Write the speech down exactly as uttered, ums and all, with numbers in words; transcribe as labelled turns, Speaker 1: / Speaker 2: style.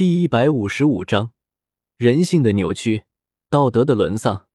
Speaker 1: 第一百五十五章人性的扭曲，道德的沦丧。